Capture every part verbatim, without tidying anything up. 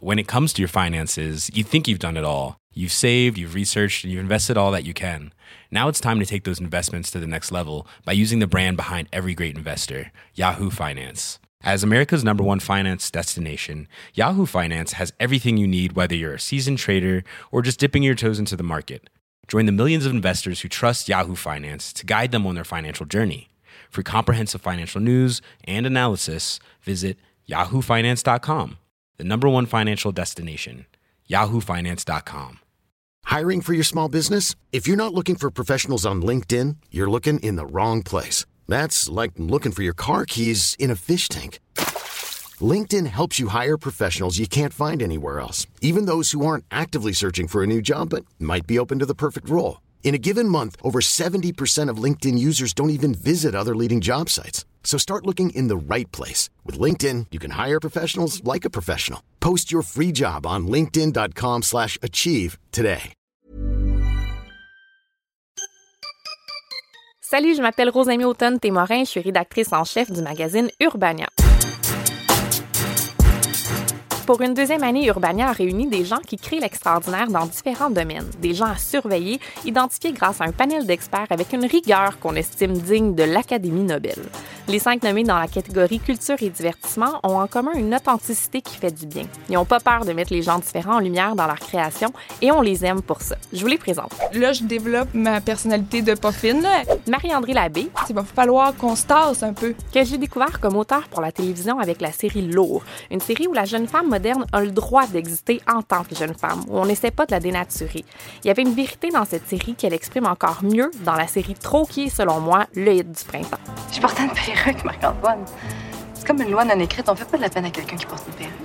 when it comes to your finances, you think you've done it all. You've saved, you've researched, and you've invested all that you can. Now it's time to take those investments to the next level by using the brand behind every great investor, Yahoo Finance. As America's number one finance destination, Yahoo Finance has everything you need, whether you're a seasoned trader or just dipping your toes into the market. Join the millions of investors who trust Yahoo Finance to guide them on their financial journey. For comprehensive financial news and analysis, visit yahoo finance dot com, the number one financial destination, yahoo finance dot com. Hiring for your small business? If you're not looking for professionals on LinkedIn, you're looking in the wrong place. That's like looking for your car keys in a fish tank. LinkedIn helps you hire professionals you can't find anywhere else, even those who aren't actively searching for a new job but might be open to the perfect role. In a given month, over seventy percent of LinkedIn users don't even visit other leading job sites. So start looking in the right place. With LinkedIn, you can hire professionals like a professional. Post your free job on linkedin dot com slash achieve today. Salut, je m'appelle Rosamie Automne-Témorin, je suis rédactrice en chef du magazine Urbania. Pour une deuxième année, Urbania a réuni des gens qui créent l'extraordinaire dans différents domaines. Des gens à surveiller, identifiés grâce à un panel d'experts avec une rigueur qu'on estime digne de l'Académie Nobel. Les cinq nommés dans la catégorie culture et divertissement ont en commun une authenticité qui fait du bien. Ils n'ont pas peur de mettre les gens différents en lumière dans leur création et on les aime pour ça. Je vous les présente. Là, je développe ma personnalité de pas fine. Marie-André Labbé. Il va falloir qu'on se tasse un peu. Que j'ai découvert comme auteur pour la télévision avec la série Lourd, une série où la jeune femme moderne a le droit d'exister en tant que jeune femme, où on n'essaie pas de la dénaturer. Il y avait une vérité dans cette série qu'elle exprime encore mieux dans la série Trop, qui est, selon moi, le hit du printemps. Je porte une perruque, Marc-Antoine. C'est comme une loi non écrite, on fait pas de la peine à quelqu'un qui porte une perruque.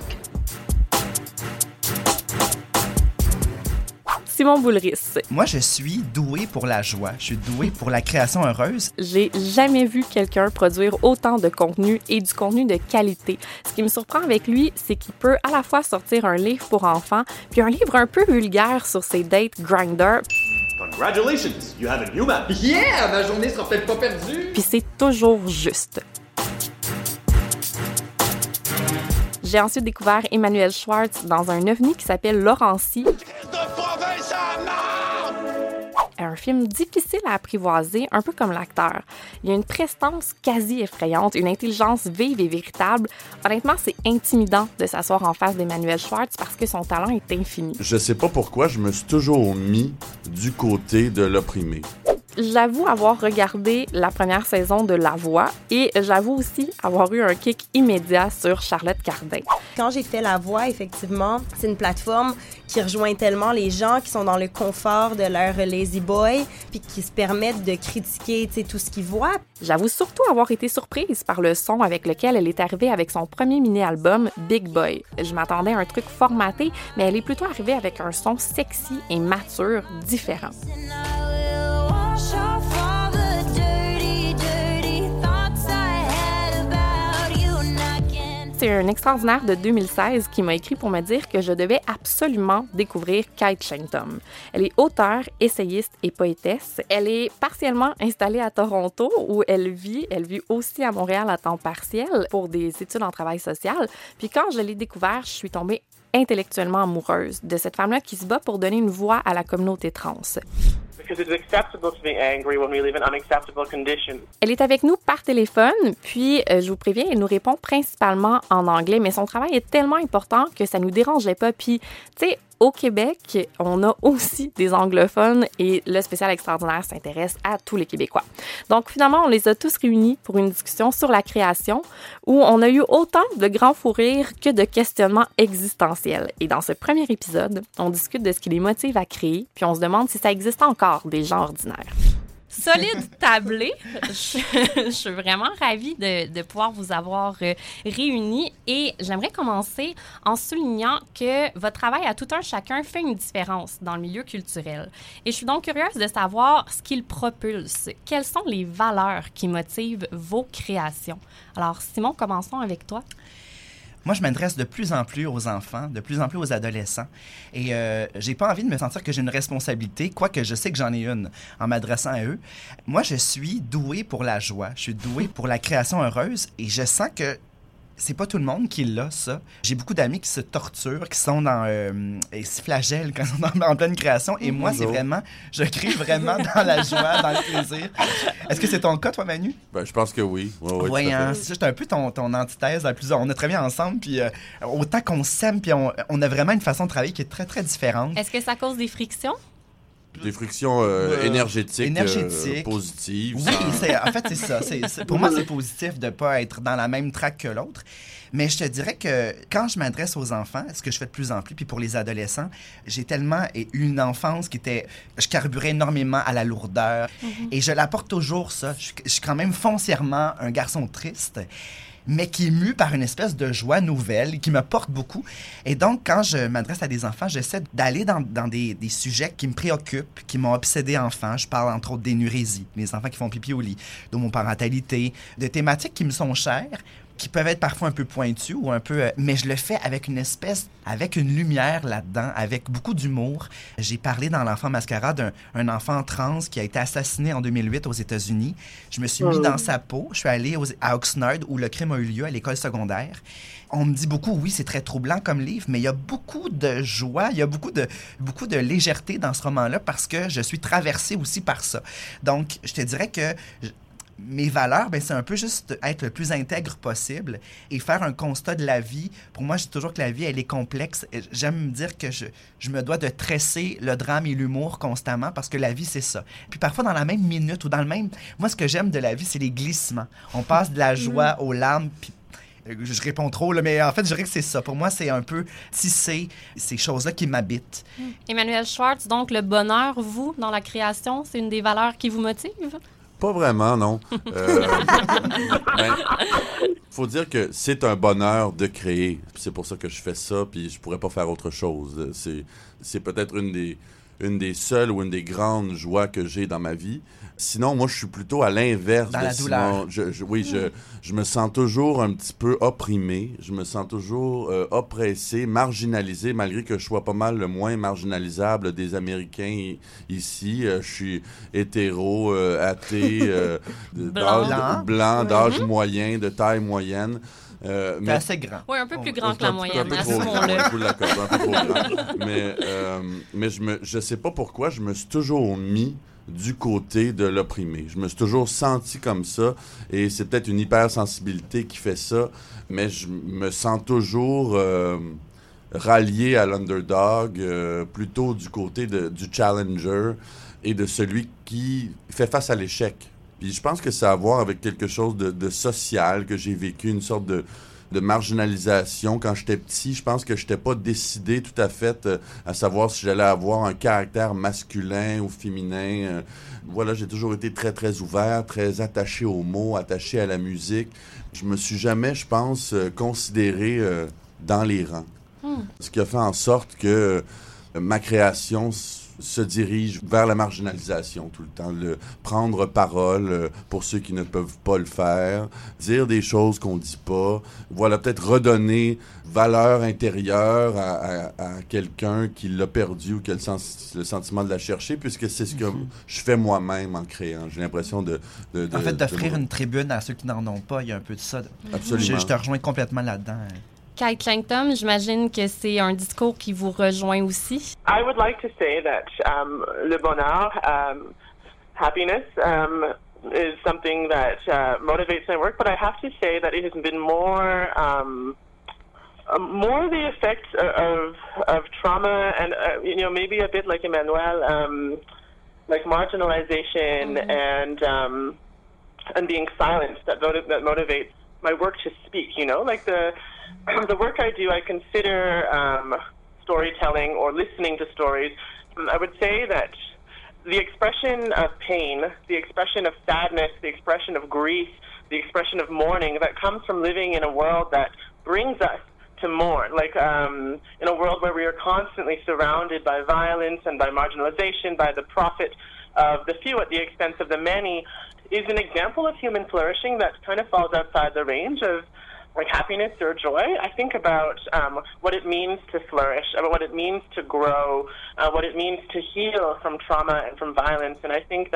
Simon Boulris. Moi, je suis doué pour la joie. Je suis doué pour la création heureuse. J'ai jamais vu quelqu'un produire autant de contenu et du contenu de qualité. Ce qui me surprend avec lui, c'est qu'il peut à la fois sortir un livre pour enfants, puis un livre un peu vulgaire sur ses dates Grindr. Congratulations, you have a new man. Yeah, ma journée sera peut-être pas perdue. Puis c'est toujours juste. J'ai ensuite découvert Emmanuel Schwartz dans un ovni qui s'appelle Laurentie. Un film difficile à apprivoiser, un peu comme l'acteur. Il y a une prestance quasi effrayante, une intelligence vive et véritable. Honnêtement, c'est intimidant de s'asseoir en face d'Emmanuel Schwartz parce que son talent est infini. Je sais pas pourquoi, je me suis toujours mis du côté de l'opprimé. J'avoue avoir regardé la première saison de La Voix et j'avoue aussi avoir eu un kick immédiat sur Charlotte Cardin. Quand j'ai fait La Voix, effectivement, c'est une plateforme qui rejoint tellement les gens qui sont dans le confort de leur lazy boy puis qui se permettent de critiquer tout ce qu'ils voient. J'avoue surtout avoir été surprise par le son avec lequel elle est arrivée avec son premier mini-album Big Boy. Je m'attendais à un truc formaté, mais elle est plutôt arrivée avec un son sexy et mature différent. C'est un extraordinaire de deux mille seize qui m'a écrit pour me dire que je devais absolument découvrir Kate Shenton. Elle est auteure, essayiste et poétesse. Elle est partiellement installée à Toronto où elle vit. Elle vit aussi à Montréal à temps partiel pour des études en travail social. Puis quand je l'ai découvert, je suis tombée intellectuellement amoureuse de cette femme-là qui se bat pour donner une voix à la communauté trans. Elle est avec nous par téléphone, puis euh, je vous préviens, elle nous répond principalement en anglais, mais son travail est tellement important que ça nous dérangeait pas. Puis, tu sais, au Québec, on a aussi des anglophones et le spécial extraordinaire s'intéresse à tous les Québécois. Donc, finalement, on les a tous réunis pour une discussion sur la création où on a eu autant de grands fous rires que de questionnements existentiels. Et dans ce premier épisode, on discute de ce qui les motive à créer, puis on se demande si ça existe encore des gens ordinaires. Solide tablé. Je, je suis vraiment ravie de, de pouvoir vous avoir euh, réunis et j'aimerais commencer en soulignant que votre travail à tout un chacun fait une différence dans le milieu culturel. Et je suis donc curieuse de savoir ce qu'il propulse. Quelles sont les valeurs qui motivent vos créations? Alors, Simon, commençons avec toi. Moi, je m'adresse de plus en plus aux enfants, de plus en plus aux adolescents. Et euh, j'ai pas envie de me sentir que j'ai une responsabilité, quoique je sais que j'en ai une en m'adressant à eux. Moi, je suis doué pour la joie. Je suis doué pour la création heureuse et je sens que C'est pas tout le monde qui l'a, ça. J'ai beaucoup d'amis qui se torturent, qui sont dans... Euh, et se flagellent quand ils sont en pleine création. Et moi, c'est vraiment... Je crée vraiment dans la joie, dans le plaisir. Est-ce que c'est ton cas, toi, Manu? Ben, je pense que oui. Oui, oui, oui hein, c'est juste un peu ton, ton antithèse. La plus, on a très bien ensemble, puis euh, autant qu'on s'aime, puis on, on a vraiment une façon de travailler qui est très, très différente. Est-ce que ça cause des frictions? Des frictions euh, euh, énergétiques, énergétiques. Euh, positives. Oui, c'est, en fait, c'est ça. C'est, c'est, pour moi, c'est positif de ne pas être dans la même track que l'autre. Mais je te dirais que quand je m'adresse aux enfants, ce que je fais de plus en plus, puis pour les adolescents, j'ai tellement eu une enfance qui était... Je carburais énormément à la lourdeur. Mm-hmm. Et je l'apporte toujours, ça. Je, je suis quand même foncièrement un garçon triste, mais qui est mu par une espèce de joie nouvelle, qui me porte beaucoup. Et donc, quand je m'adresse à des enfants, j'essaie d'aller dans, dans des, des sujets qui me préoccupent, qui m'ont obsédé enfant. Je parle entre autres d'énurésie, les enfants qui font pipi au lit, d'homoparentalité, de thématiques qui me sont chères, qui peuvent être parfois un peu pointues ou un peu... Euh, mais je le fais avec une espèce... avec une lumière là-dedans, avec beaucoup d'humour. J'ai parlé dans l'Enfant Mascara d'un un enfant trans qui a été assassiné en deux mille huit aux États-Unis. Je me suis mis dans sa peau. Je suis allé aux, à Oxnard, où le crime a eu lieu, à l'école secondaire. On me dit beaucoup, oui, c'est très troublant comme livre, mais il y a beaucoup de joie, il y a beaucoup de, beaucoup de légèreté dans ce roman-là parce que je suis traversée aussi par ça. Donc, je te dirais que... Je, mes valeurs, ben, c'est un peu juste être le plus intègre possible et faire un constat de la vie. Pour moi, je dis toujours que la vie, elle est complexe. J'aime me dire que je, je me dois de tresser le drame et l'humour constamment parce que la vie, c'est ça. Puis parfois, dans la même minute ou dans le même... Moi, ce que j'aime de la vie, c'est les glissements. On passe de la joie aux larmes, puis je réponds trop, là, mais en fait, je dirais que c'est ça. Pour moi, c'est un peu tisser ces choses-là qui m'habitent. Emmanuel Schwartz, donc le bonheur, vous, dans la création, c'est une des valeurs qui vous motive? Pas vraiment, non. Euh, ben, faut dire que c'est un bonheur de créer. C'est pour ça que je fais ça, puis je pourrais pas faire autre chose. C'est, c'est peut-être une des, une des seules ou une des grandes joies que j'ai dans ma vie. Sinon, moi, je suis plutôt à l'inverse dans de la douleur. Simon. Je, je, oui, je, je me sens toujours un petit peu opprimé. Je me sens toujours euh, oppressé, marginalisé, malgré que je sois pas mal le moins marginalisable des Américains ici. Euh, je suis hétéro, euh, athée, euh, blanc, d'âge, blanc, d'âge mm-hmm. moyen, de taille moyenne. Euh, mais assez grand. Oui, un peu plus grand on, que la moyenne. Un peu trop grand, un peu trop grand. Mais, euh, mais je me, je sais pas pourquoi, je me suis toujours mis du côté de l'opprimé. Je me suis toujours senti comme ça et c'est peut-être une hypersensibilité qui fait ça, mais je me sens toujours euh, rallié à l'underdog, euh, plutôt du côté de, du challenger et de celui qui fait face à l'échec. Puis je pense que ça a à voir avec quelque chose de, de social que j'ai vécu, une sorte de de marginalisation. Quand j'étais petit, je pense que je n'étais pas décidé tout à fait euh, à savoir si j'allais avoir un caractère masculin ou féminin. Euh, voilà, j'ai toujours été très, très ouvert, très attaché aux mots, attaché à la musique. Je me suis jamais, je pense, euh, considéré euh, dans les rangs. Mm. Ce qui a fait en sorte que euh, ma création se dirige vers la marginalisation tout le temps, le prendre parole euh, pour ceux qui ne peuvent pas le faire, dire des choses qu'on dit pas, voilà, peut-être redonner valeur intérieure à, à, à quelqu'un qui l'a perdu ou qui a le, sens, le sentiment de la chercher, puisque c'est ce que mm-hmm. je fais moi-même en créant. J'ai l'impression de... de, de en fait, d'offrir de... une tribune à ceux qui n'en ont pas, il y a un peu de ça. Absolument. Je, je te rejoins complètement là-dedans. Kate Langton, j'imagine que c'est un discours qui vous rejoint aussi. I would like to say that um, le bonheur, um, happiness, um, is something that uh, motivates my work, but I have to say that it has been more, um, uh, more the effects of of trauma and uh, you know maybe a bit like Emmanuel, um, like marginalization mm-hmm. and um, and being silenced that motiv- that motivates my work to speak. You know, like the the work I do, I consider um, storytelling or listening to stories. I would say that the expression of pain, the expression of sadness, the expression of grief, the expression of mourning that comes from living in a world that brings us to mourn, like um, in a world where we are constantly surrounded by violence and by marginalization, by the profit of the few at the expense of the many, is an example of human flourishing that kind of falls outside the range of like happiness or joy. I think about um, what it means to flourish, about what it means to grow, uh, what it means to heal from trauma and from violence. And I think that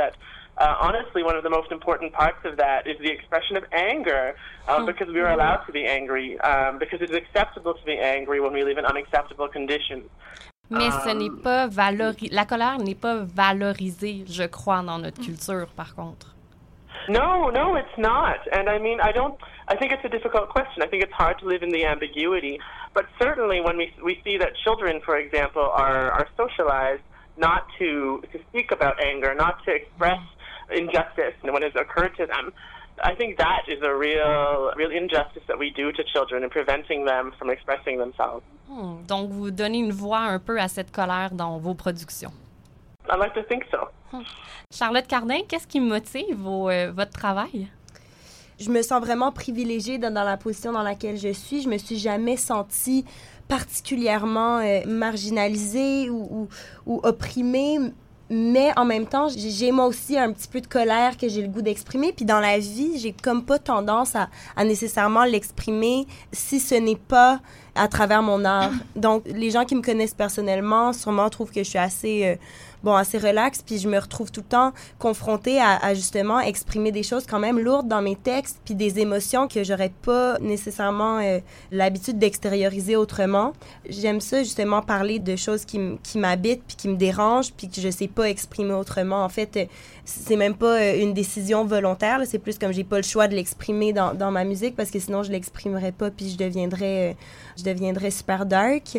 uh, honestly, one of the most important parts of that is the expression of anger, uh, because we are allowed to be angry, um, because it is acceptable to be angry when we live in unacceptable conditions. Mais ce n'est pas valori- la colère n'est pas valorisée, je crois, dans notre culture, par contre. No, no, it's not. And I mean, I don't, I think it's a difficult question. I think it's hard to live in the ambiguity. But certainly when we we see that children, for example, are, are socialized not to, to speak about anger, not to express injustice when it's occurred to them, I think that is a real, real injustice that we do to children in preventing them from expressing themselves. Hmm. Donc, vous donnez une voix un peu à cette colère dans vos productions. I like to think so. Hmm. Charlotte Cardin, qu'est-ce qui motive vos, euh, votre travail? Je me sens vraiment privilégiée dans, dans la position dans laquelle je suis. Je me suis jamais sentie particulièrement euh, marginalisée ou, ou, ou opprimée. Mais en même temps, j'ai moi aussi un petit peu de colère que j'ai le goût d'exprimer. Puis dans la vie, j'ai comme pas tendance à, à nécessairement l'exprimer si ce n'est pas à travers mon art. Donc, les gens qui me connaissent personnellement, sûrement trouvent que je suis assez... Euh, bon, assez relax, puis je me retrouve tout le temps confrontée à, à justement exprimer des choses quand même lourdes dans mes textes, puis des émotions que j'aurais pas nécessairement euh, l'habitude d'extérioriser autrement. J'aime ça, justement, parler de choses qui, m- qui m'habitent, puis qui me dérangent, puis que je sais pas exprimer autrement. En fait, euh, c'est même pas euh, une décision volontaire, là, c'est plus comme j'ai pas le choix de l'exprimer dans, dans ma musique, parce que sinon, je l'exprimerais pas, puis je deviendrais, euh, je deviendrais super dark.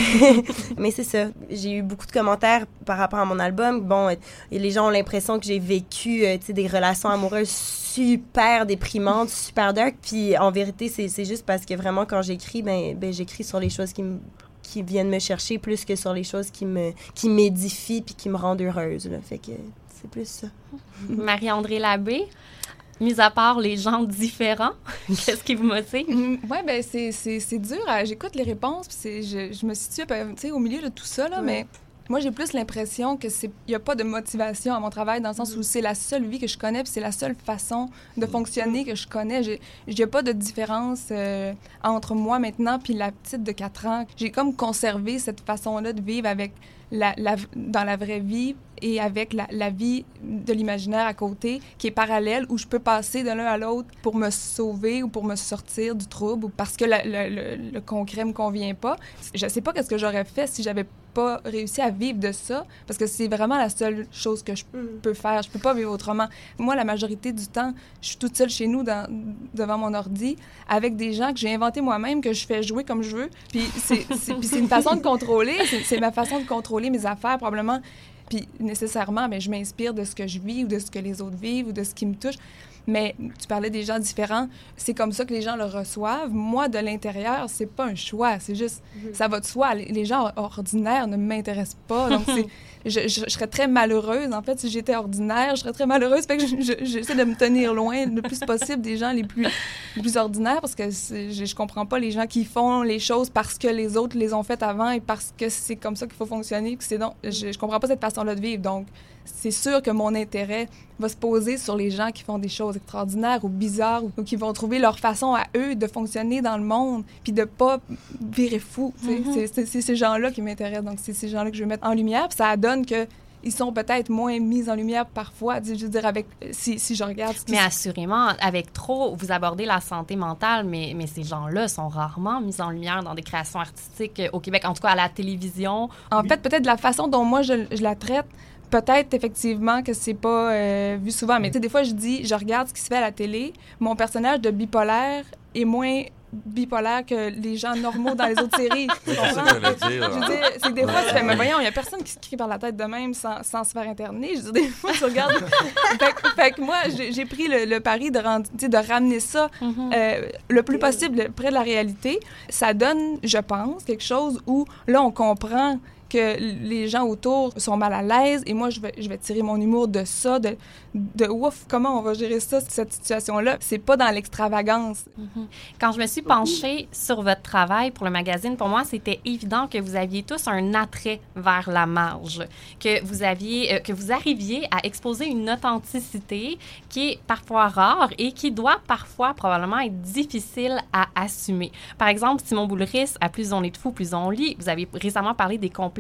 Mais c'est ça, j'ai eu beaucoup de commentaires par rapport à mon album. Bon, euh, les gens ont l'impression que j'ai vécu euh, des relations amoureuses super déprimantes, super dark. Puis en vérité, c'est, c'est juste parce que vraiment, quand j'écris, ben, ben j'écris sur les choses qui, m- qui viennent me chercher plus que sur les choses qui, me, qui m'édifient puis qui me rendent heureuse. Là. Fait que c'est plus ça. Marie-André Labbé, mis à part les gens différents, qu'est-ce qui vous motive? Mm, oui, bien, c'est, c'est, c'est dur. À, j'écoute les réponses, puis c'est, je, je me situe au milieu de tout ça, là, ouais. Mais moi, j'ai plus l'impression que c'est il n'y a pas de motivation à mon travail, dans le sens où c'est la seule vie que je connais, puis c'est la seule façon de fonctionner que je connais. Il n'y a pas de différence euh, entre moi maintenant puis la petite de quatre ans. J'ai comme conservé cette façon-là de vivre avec la, la, dans la vraie vie et avec la, la vie de l'imaginaire à côté, qui est parallèle, où je peux passer de l'un à l'autre pour me sauver ou pour me sortir du trouble, ou parce que la, le, le, le concret me convient pas. Je sais pas qu'est-ce que j'aurais fait si j'avais pas réussi à vivre de ça, parce que c'est vraiment la seule chose que je peux faire. Je peux pas vivre autrement. Moi, la majorité du temps, je suis toute seule chez nous dans, devant mon ordi, avec des gens que j'ai inventés moi-même, que je fais jouer comme je veux. Puis c'est, c'est, puis c'est une façon de contrôler, c'est, c'est ma façon de contrôler mes affaires, probablement. Puis nécessairement, mais je m'inspire de ce que je vis ou de ce que les autres vivent ou de ce qui me touche. Mais tu parlais des gens différents, c'est comme ça que les gens le reçoivent. Moi, de l'intérieur, c'est pas un choix, c'est juste, mm-hmm. ça va de soi. Les, les gens ordinaires ne m'intéressent pas, donc c'est, je, je, je serais très malheureuse. En fait, si j'étais ordinaire, je serais très malheureuse. Fait que je, je, j'essaie de me tenir loin le plus possible des gens les plus, les plus ordinaires, parce que c'est, je, je comprends pas les gens qui font les choses parce que les autres les ont faites avant et parce que c'est comme ça qu'il faut fonctionner. Que c'est donc, je, je comprends pas cette façon-là de vivre, donc c'est sûr que mon intérêt va se poser sur les gens qui font des choses extraordinaires ou bizarres ou, ou qui vont trouver leur façon à eux de fonctionner dans le monde puis de pas virer fou. Mm-hmm. C'est, c'est, c'est ces gens-là qui m'intéressent. Donc, c'est ces gens-là que je veux mettre en lumière. Puis ça donne que ils sont peut-être moins mis en lumière parfois, je veux dire, avec, si, si je regarde... Mais assurément, avec trop, vous abordez la santé mentale, mais, mais ces gens-là sont rarement mis en lumière dans des créations artistiques au Québec, en tout cas à la télévision. En oui. fait, peut-être de la façon dont moi je, je la traite, peut-être effectivement que c'est pas euh, vu souvent, mais tu sais, des fois je dis, je regarde ce qui se fait à la télé, mon personnage de bipolaire est moins bipolaire que les gens normaux dans les autres séries. Tu comprends? Je veux dire, c'est que des fois, tu fais, mais voyons, il y a personne qui se crie par la tête de même sans, sans se faire interner. Je veux dire, des fois, tu regardes... fait, fait que moi, j'ai, j'ai pris le, le pari de, rendre, de ramener ça mm-hmm. euh, le plus possible près de la réalité. Ça donne, je pense, quelque chose où, là, on comprend que les gens autour sont mal à l'aise et moi, je vais, je vais tirer mon humour de ça, de, de ouf, comment on va gérer ça, cette situation-là. C'est pas dans l'extravagance. Mm-hmm. Quand je me suis penchée sur votre travail pour le magazine, pour moi, c'était évident que vous aviez tous un attrait vers la marge, que vous aviez, euh, que vous arriviez à exposer une authenticité qui est parfois rare et qui doit parfois probablement être difficile à assumer. Par exemple, Simon Boulris, à Plus on est de fous, plus on lit, vous avez récemment parlé des complexes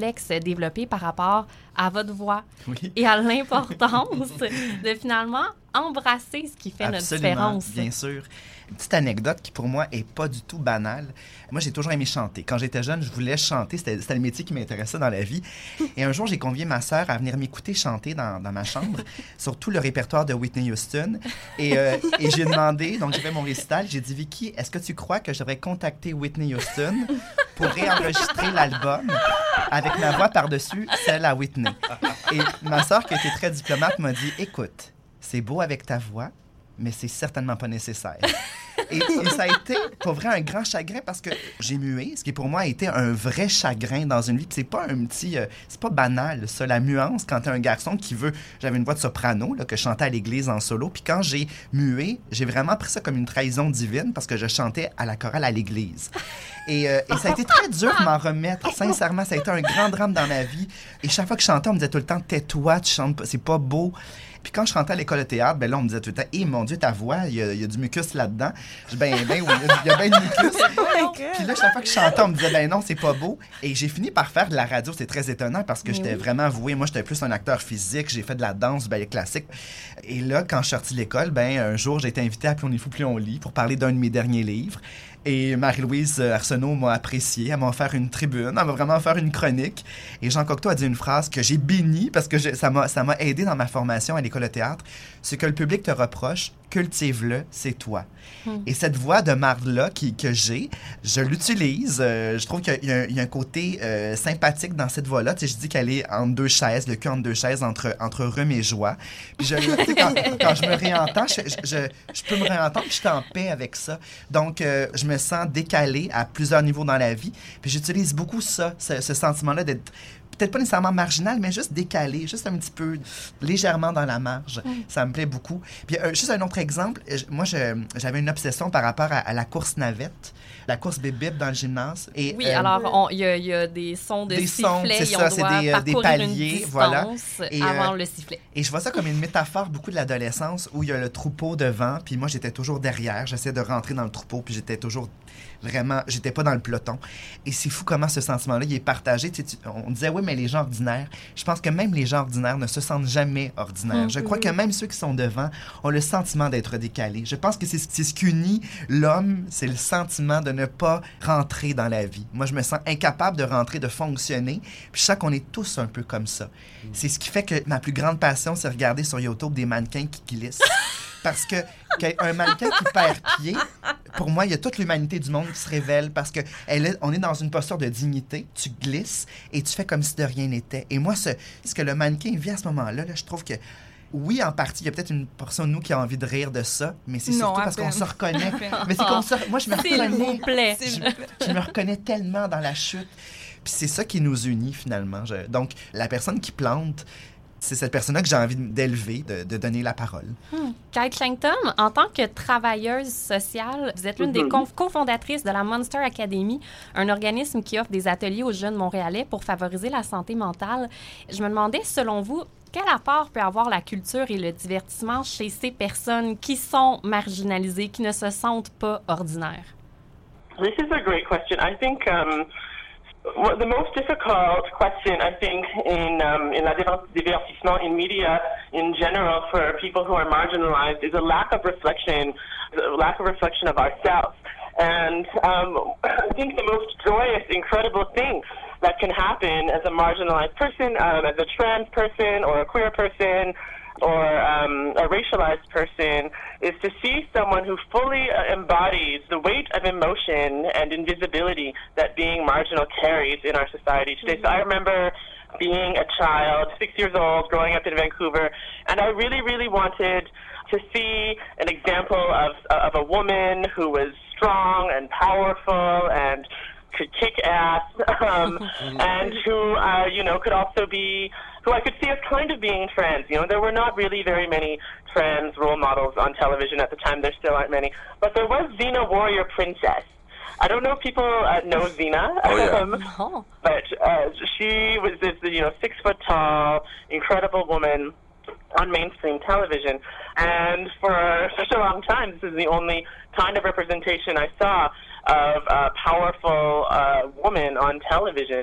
complexe développé par rapport à votre voix oui. et à l'importance de finalement embrasser ce qui fait Absolument, notre différence. Bien sûr. Une petite anecdote qui, pour moi, est pas du tout banale. Moi, j'ai toujours aimé chanter. Quand j'étais jeune, je voulais chanter. C'était, c'était le métier qui m'intéressait dans la vie. Et un jour, j'ai convié ma sœur à venir m'écouter chanter dans, dans ma chambre, sur tout le répertoire de Whitney Houston. Et, euh, et j'ai demandé, donc j'ai fait mon récital, j'ai dit, Vicky, est-ce que tu crois que je devrais contacter Whitney Houston pour réenregistrer l'album avec ma voix par-dessus celle à Whitney? Et ma sœur, qui était très diplomate, m'a dit, écoute, c'est beau avec ta voix, mais c'est certainement pas nécessaire. Et, et ça a été, pour vrai, un grand chagrin parce que j'ai mué, ce qui pour moi a été un vrai chagrin dans une vie. Puis c'est pas un petit... Euh, c'est pas banal, ça, la muance, quand t'es un garçon qui veut... J'avais une voix de soprano, là, que je chantais à l'église en solo. Puis quand j'ai mué, j'ai vraiment pris ça comme une trahison divine parce que je chantais à la chorale à l'église. Et, euh, et ça a été très dur de m'en remettre. Sincèrement, ça a été un grand drame dans ma vie. Et chaque fois que je chantais, on me disait tout le temps, tais-toi, tu chantes pas, c'est pas beau. Puis quand je rentrais à l'école de théâtre, ben là, on me disait tout le temps, hé, mon Dieu, ta voix, il y, a, il y a du mucus là-dedans. Je dis, ben, ben oui, il y a bien du mucus. Puis là, chaque fois que je chantais, on me disait, ben non, c'est pas beau. Et j'ai fini par faire de la radio. C'est très étonnant parce que Mais j'étais oui. vraiment voué. Moi, j'étais plus un acteur physique. J'ai fait de la danse, du ballet classique. Et là, quand je suis sorti de l'école, ben un jour, j'ai été invité à Plus on est fou, plus on lit pour parler d'un de mes derniers livres. Et Marie-Louise Arsenault m'a apprécié. Elle m'a offert une tribune. Elle m'a vraiment offert une chronique. Et Jean Cocteau a dit une phrase que j'ai bénie parce que je, ça, m'a, ça m'a aidé dans ma formation à l'école de théâtre. Ce que le public te reproche, cultive-le, c'est toi. Hum. Et cette voix de marde-là qui, que j'ai, je l'utilise. Euh, je trouve qu'il y a, il y a un côté euh, sympathique dans cette voix-là. Tu sais, je dis qu'elle est entre deux chaises, le cul entre deux chaises, entre, entre rhume et joie. Puis je, tu sais, quand, quand je me réentends, je, je, je, je peux me réentendre, puis je suis en paix avec ça. Donc, euh, je me sens décalé à plusieurs niveaux dans la vie. Puis j'utilise beaucoup ça, ce, ce sentiment-là d'être peut-être pas nécessairement marginal, mais juste décalé, juste un petit peu légèrement dans la marge. Mm. Ça me plaît beaucoup. Puis euh, juste un autre exemple, moi, je, j'avais une obsession par rapport à, à la course navette, la course bip-bip dans le gymnase. Et, oui, euh, alors il y, y a des sons de des sifflet sons, c'est et ça, on c'est doit des, euh, des paliers, voilà. Et, avant euh, le sifflet. Et je vois ça comme une métaphore beaucoup de l'adolescence où il y a le troupeau devant, puis moi, j'étais toujours derrière. J'essayais de rentrer dans le troupeau, puis j'étais toujours vraiment... J'étais pas dans le peloton. Et c'est fou comment ce sentiment-là, il est partagé. Tu sais, tu, on disait, oui, mais les gens ordinaires... Je pense que même les gens ordinaires ne se sentent jamais ordinaires. Mm-hmm. Je crois que même ceux qui sont devant ont le sentiment d'être décalés. Je pense que c'est, c'est ce qui unit l'homme, c'est le sentiment de ne pas rentrer dans la vie. Moi, je me sens incapable de rentrer, de fonctionner. Puis je sens qu'on est tous un peu comme ça. Mm. C'est ce qui fait que ma plus grande passion, c'est regarder sur YouTube des mannequins qui glissent. Parce que qu'un mannequin qui perd pied, pour moi, il y a toute l'humanité du monde qui se révèle parce que elle est, on est dans une posture de dignité, tu glisses et tu fais comme si de rien n'était. Et moi, ce, ce que le mannequin vit à ce moment-là, là, je trouve que oui, en partie, il y a peut-être une portion de nous qui a envie de rire de ça, mais c'est non, surtout parce qu'on se reconnaît. Mais c'est comme ça. Moi, je me reconnais. Je, je me reconnais tellement dans la chute. Puis c'est ça qui nous unit, finalement. Je, donc, la personne qui plante, c'est cette personne-là que j'ai envie d'élever, de, de donner la parole. Hmm. Kate Shanktun, en tant que travailleuse sociale, vous êtes l'une mm-hmm. des co- cofondatrices de la Monster Academy, un organisme qui offre des ateliers aux jeunes Montréalais pour favoriser la santé mentale. Je me demandais, selon vous, quel apport peut avoir la culture et le divertissement chez ces personnes qui sont marginalisées, qui ne se sentent pas ordinaires? This is a great question. I think... Um... Well, the most difficult question, I think, in um, in la divertissement in media in general for people who are marginalized is a lack of reflection, a lack of reflection of ourselves. And um, I think the most joyous, incredible thing that can happen as a marginalized person, um, as a trans person or a queer person, or um, a racialized person, is to see someone who fully uh, embodies the weight of emotion and invisibility that being marginal carries in our society today. Mm-hmm. So I remember being a child, six years old, growing up in Vancouver, and I really, really wanted to see an example of, of a woman who was strong and powerful and could kick ass, um, and who, uh, you know, could also be, who I could see as kind of being trans. You know, there were not really very many trans role models on television at the time. There still aren't many. But there was Xena Warrior Princess. I don't know if people uh, know Xena, oh, yeah. um, no. but uh, she was this, you know, six foot tall, incredible woman on mainstream television. And for such a long time, this is the only kind of representation I saw of a powerful uh, woman on television.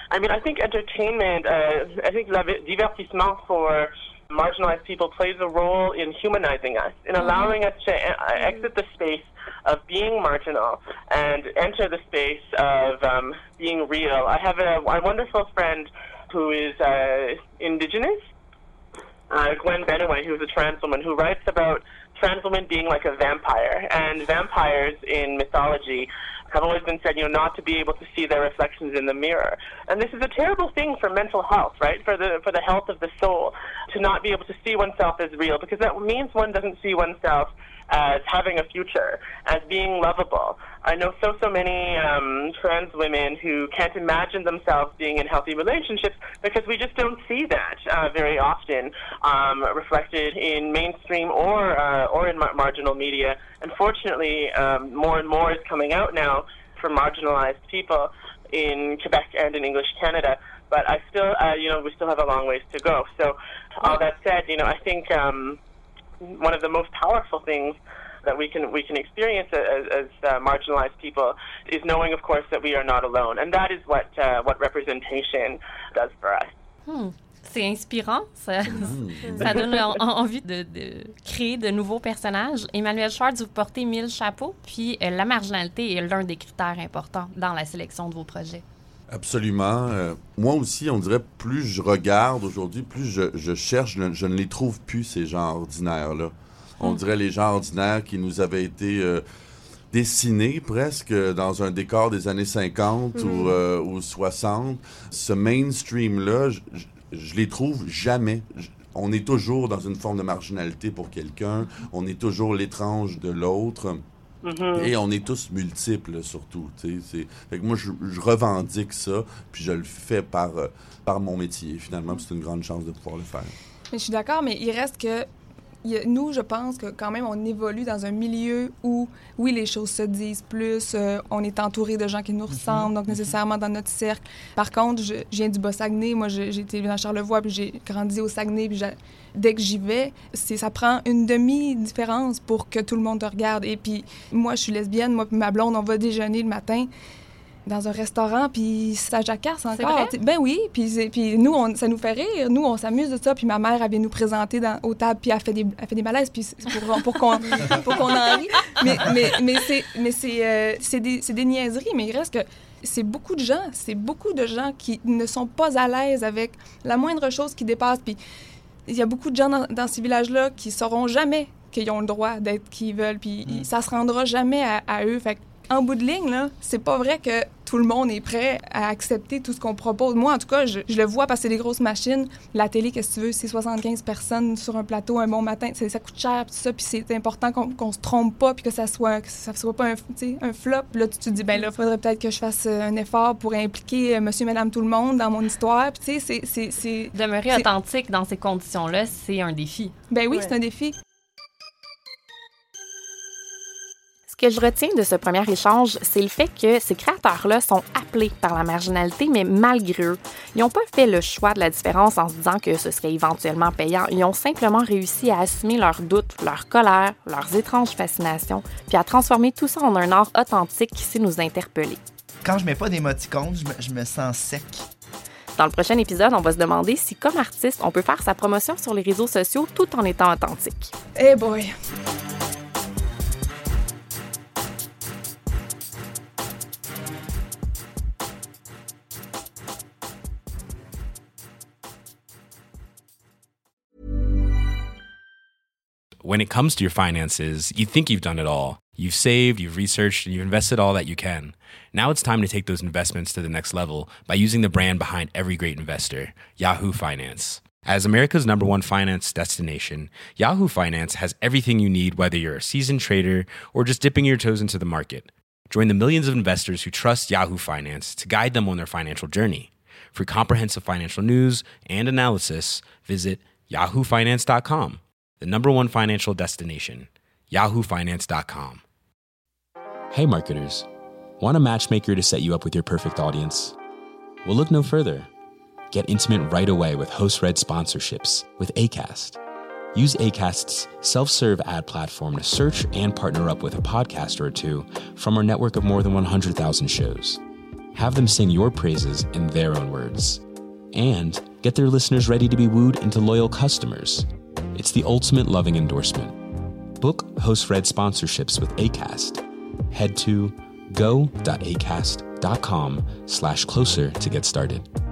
I mean, I think entertainment, uh, I think la divertissement for marginalized people plays a role in humanizing us, in allowing us to uh, exit the space of being marginal and enter the space of um, being real. I have a, a wonderful friend who is uh, Indigenous, uh, Gwen Benaway, who's a trans woman, who writes about trans women being like a vampire. And vampires in mythology have always been said, you know, not to be able to see their reflections in the mirror. And this is a terrible thing for mental health, right? For the for the health of the soul, to not be able to see oneself as real, because that means one doesn't see oneself as having a future, as being lovable. I know so, so many um, trans women who can't imagine themselves being in healthy relationships because we just don't see that uh, very often um, reflected in mainstream or uh, or in mar- marginal media. Unfortunately, um, more and more is coming out now for marginalized people in Quebec and in English Canada. But I still, uh, you know, we still have a long ways to go. So all that said, you know, I think um, one of the most powerful things that we can we can experience as, as uh, marginalized people is knowing, of course, that we are not alone, and that is what uh, what representation does for us. Hmm. C'est inspirant, ça, ça donne en, envie de, de créer de nouveaux personnages. Emmanuel Schwartz, vous portez mille chapeaux, puis euh, la marginalité est l'un des critères importants dans la sélection de vos projets. Absolument. Euh, moi aussi, on dirait, plus je regarde aujourd'hui, plus je, je cherche, je, je ne les trouve plus, ces gens ordinaires-là. On dirait les gens ordinaires qui nous avaient été euh, dessinés presque dans un décor des années cinquante mm-hmm. ou, euh, ou soixante. Ce mainstream-là, je, je, je les trouve jamais. Je, on est toujours dans une forme de marginalité pour quelqu'un. On est toujours l'étrange de l'autre. Mm-hmm. Et on est tous multiples, surtout. C'est... Fait que moi, je, je revendique ça, puis je le fais par, euh, par mon métier, finalement. C'est une grande chance de pouvoir le faire. Mais je suis d'accord, mais il reste que il y a, nous, je pense que quand même, on évolue dans un milieu où, oui, les choses se disent plus, euh, on est entouré de gens qui nous ressemblent, mm-hmm. donc nécessairement dans notre cercle. Par contre, je, je viens du Bas-Saguenay, moi, je, j'ai été à Charlevoix, puis j'ai grandi au Saguenay, puis j'ai, dès que j'y vais, c'est, ça prend une demi-différence pour que tout le monde te regarde. Et puis, moi, je suis lesbienne, moi puis ma blonde, on va déjeuner le matin dans un restaurant, puis ça jacasse encore. C'est vrai? Ben oui, puis, puis nous, on, ça nous fait rire. Nous, on s'amuse de ça, puis ma mère, elle vient nous présenter dans, aux tables, puis elle fait des, elle fait des malaises, puis c'est pour, pour, qu'on, pour qu'on en rie. Mais, mais, mais, c'est, mais c'est, euh, c'est, des, c'est des niaiseries, mais il reste que c'est beaucoup de gens, c'est beaucoup de gens qui ne sont pas à l'aise avec la moindre chose qui dépasse, puis il y a beaucoup de gens dans, dans ces villages-là qui sauront jamais qu'ils ont le droit d'être qui ils veulent, puis mm. ça se rendra jamais à, à eux. Fait en bout de ligne, là, c'est pas vrai que tout le monde est prêt à accepter tout ce qu'on propose. Moi, en tout cas, je, je le vois parce que c'est des grosses machines. La télé, qu'est-ce que tu veux, c'est soixante-quinze personnes sur un plateau un bon matin. Ça, ça coûte cher, tout ça, puis c'est important qu'on, qu'on se trompe pas, puis que ça soit, que ça soit pas un, un flop. Là, tu te dis, ben là, il faudrait peut-être que je fasse un effort pour impliquer monsieur, madame, tout le monde dans mon histoire. Puis, tu sais, c'est, c'est, c'est... Demeurer c'est... authentique dans ces conditions-là, c'est un défi. Ben oui, ouais. c'est un défi. Ce que je retiens de ce premier échange, c'est le fait que ces créateurs-là sont appelés par la marginalité, mais malgré eux. Ils n'ont pas fait le choix de la différence en se disant que ce serait éventuellement payant. Ils ont simplement réussi à assumer leurs doutes, leur colère, leurs étranges fascinations, puis à transformer tout ça en un art authentique qui sait nous interpeller. Quand je mets pas d'émoticônes, je me, je me sens sec. Dans le prochain épisode, on va se demander si, comme artiste, on peut faire sa promotion sur les réseaux sociaux tout en étant authentique. Eh hey boy! When it comes to your finances, you think you've done it all. You've saved, you've researched, and you've invested all that you can. Now it's time to take those investments to the next level by using the brand behind every great investor, Yahoo Finance. As America's number one finance destination, Yahoo Finance has everything you need, whether you're a seasoned trader or just dipping your toes into the market. Join the millions of investors who trust Yahoo Finance to guide them on their financial journey. For comprehensive financial news and analysis, visit yahoo finance dot com. The number one financial destination, yahoo finance dot com. Hey marketers, want a matchmaker to set you up with your perfect audience? Well, look no further. Get intimate right away with host-read sponsorships with Acast. Use Acast's self-serve ad platform to search and partner up with a podcaster or two from our network of more than one hundred thousand shows. have them sing your praises in their own words, and get their listeners ready to be wooed into loyal customers. It's the ultimate loving endorsement. Book HostRed sponsorships with Acast. Head to go.acast.com slash closer to get started.